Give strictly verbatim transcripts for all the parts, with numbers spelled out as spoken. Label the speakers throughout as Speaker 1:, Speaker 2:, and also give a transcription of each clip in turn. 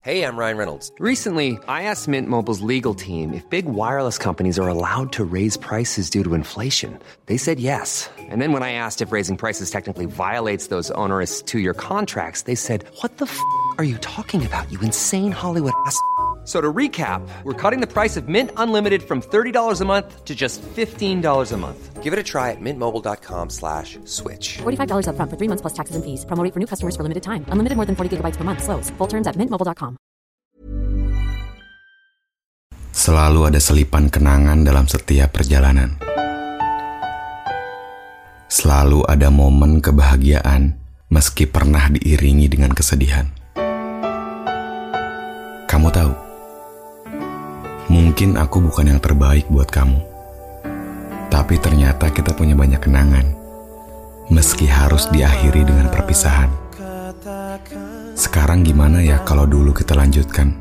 Speaker 1: Hey, I'm Ryan Reynolds.
Speaker 2: Recently, I asked Mint Mobile's legal team if big wireless companies are allowed to raise prices due to inflation. They said yes. And then when I asked if raising prices technically violates those onerous two-year contracts, they said, "What the f*** are you talking about, you insane Hollywood ass?" So to recap, we're cutting the price of Mint Unlimited from thirty dollars a month to just fifteen dollars a month.
Speaker 1: Give it a try at mintmobile.com slash switch.
Speaker 3: forty-five dollars up front for three months plus taxes and fees. Promo rate for new customers for limited time. Unlimited more than forty gigabytes per month. Slows full terms at mint mobile dot com.
Speaker 4: Selalu ada selipan kenangan dalam setiap perjalanan. Selalu ada momen kebahagiaan meski pernah diiringi dengan kesedihan. Kamu tahu, mungkin aku bukan yang terbaik buat kamu. Tapi ternyata kita punya banyak kenangan, meski harus diakhiri dengan perpisahan. Sekarang gimana ya kalau dulu kita lanjutkan?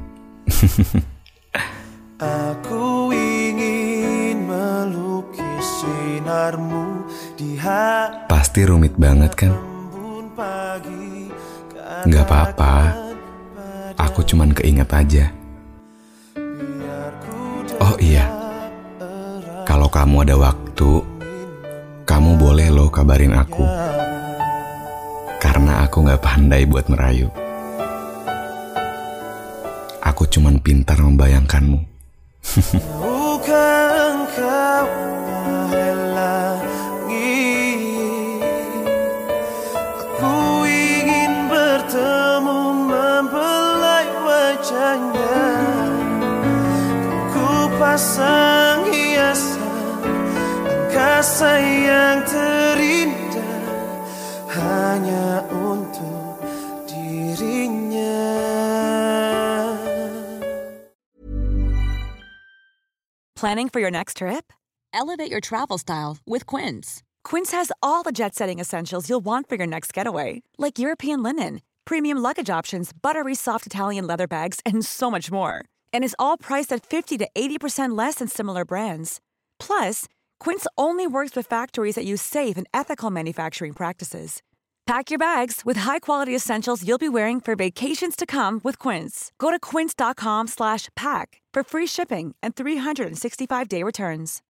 Speaker 5: Aku ingin melukis sinarmu di hati.
Speaker 4: Pasti rumit banget kan? Gak apa-apa, aku cuman keinget aja. Oh iya, kalau kamu ada waktu, kamu boleh loh kabarin aku. Karena aku gak pandai buat merayu. Aku cuman pintar membayangkanmu.
Speaker 5: Tahukah engkau wahai langit, aku ingin bertemu membelai wajahnya. Ku pasang hiasan angkasa yang terindah hanya untuk dirinya.
Speaker 6: Planning for your next trip? Elevate your travel style with Quince. Quince has all the jet-setting essentials you'll want for your next getaway, like European linen, premium luggage options, buttery soft Italian leather bags, and so much more. And is all priced at fifty to eighty percent less than similar brands. Plus, Quince only works with factories that use safe and ethical manufacturing practices. Pack your bags with high-quality essentials you'll be wearing for vacations to come with Quince. Go to quince.com slash pack for free shipping and three sixty-five day returns.